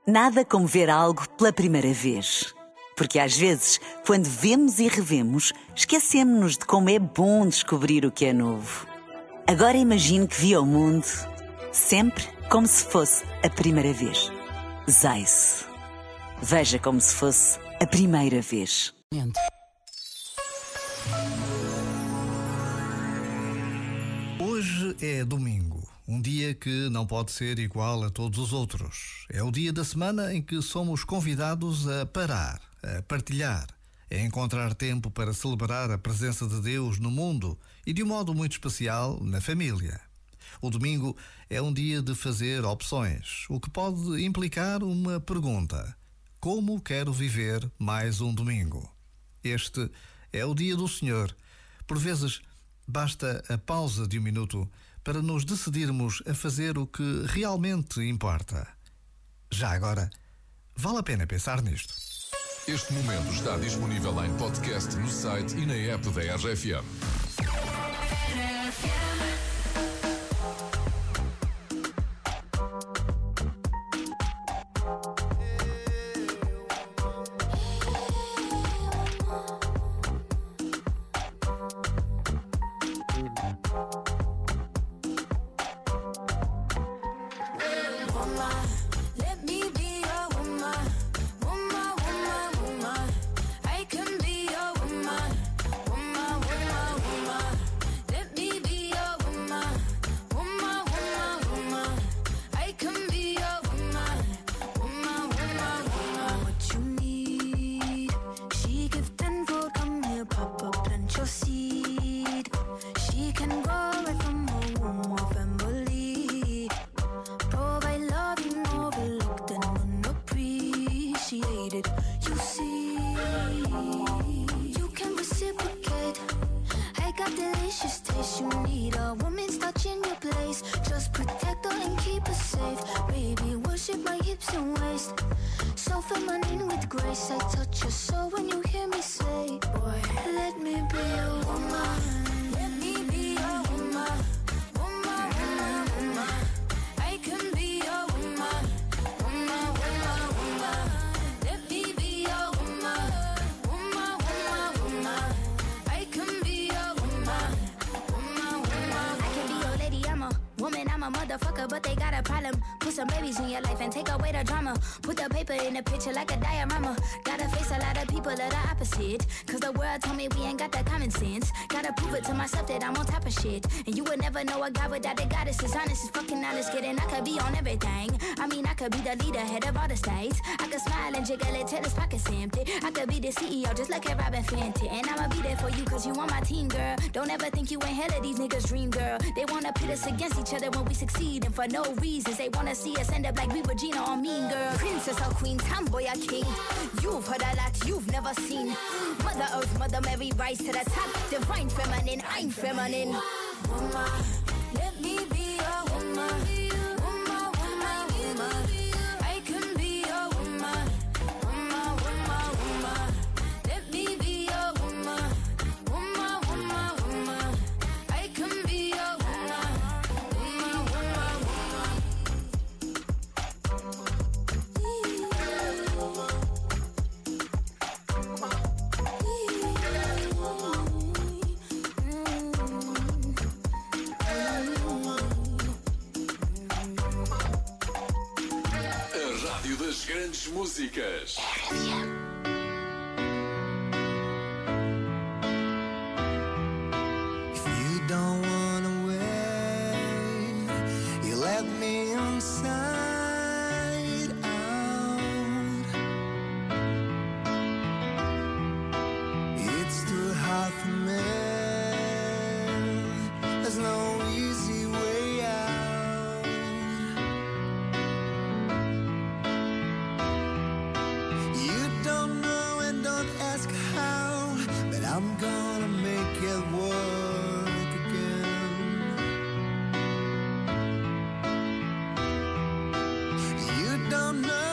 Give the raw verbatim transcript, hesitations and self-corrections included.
Nada como ver algo pela primeira vez. Porque às vezes, quando vemos e revemos, esquecemos-nos de como é bom descobrir o que é novo. Agora imagine que viu o mundo sempre como se fosse a primeira vez. Zais. Veja como se fosse a primeira vez. Hoje é domingo, um dia que não pode ser igual a todos os outros. É o dia da semana em que somos convidados a parar, a partilhar, a encontrar tempo para celebrar a presença de Deus no mundo e, de um modo muito especial, na família. O domingo é um dia de fazer opções, o que pode implicar uma pergunta: como quero viver mais um domingo? Este é o dia do Senhor. Por vezes, basta a pausa de um minuto para nos decidirmos a fazer o que realmente importa. Já agora, vale a pena pensar nisto. Este momento está disponível em podcast no site e na app da R F M. Let me be your woman, woman, woman, woman. I can be your woman, woman, woman, woman. Let me be your woman, woman, woman, woman. I can be your woman, woman, woman, woman. What you need, she give tenfold. Come here, Papa, plant your seed. She can grow right from her womb of family. Provide love you overlooked and unappreciated. You see, you can reciprocate. I got delicious taste. You need a woman's touch in your place. Just protect her and keep her safe. Baby, worship my hips and waist. So feminine with grace. I touch your soul when you hear me say, boy, let me be your woman. Let me be your woman. Woman, woman, woman. I can be your woman, woman, woman, woman. Let me be your woman, woman, woman, woman. I can be your woman, woman, woman. I can be your lady, I'm a woman, I'm a motherfucker, but they got a problem. Put some babies in your life and take away the drama. Put the paper in the picture like a diorama. Gotta face a lot of people that are opposite, cause the world told me we ain't got that common sense. Gotta prove it to myself that I'm on top of shit. And you would never know a guy without a goddess. As honest as fucking honest, kidding. I could be on everything. I mean, I could be the leader, head of all the states. I could smile and jiggle it till his pockets empty. I could be the C E O just like a Robin Fenty. And I'ma be there for you cause you on my team, girl. Don't ever think you ain't hell of these niggas' dream, girl. They wanna pit us against each other when we succeed, and for no reasons. They wanna see us end up like we Regina or Mean Girl. Princess or queen, tomboy or king. You've heard a lot you've never seen. Mother Earth, Mother Mary, rise to the top. Divine feminine, I'm feminine. Woman, let me be your woman. Woman, woman, woman. I can be your woman. Woman, woman, woman. Let me be your woman. Woman, woman, woman. I can be your woman. Woman, woman, woman. A rádio das grandes músicas. If you don't wanna wait, you let me inside out. It's too hard for me. There's no easy way out. You don't know and don't ask how, but I'm gonna make it work again. You don't know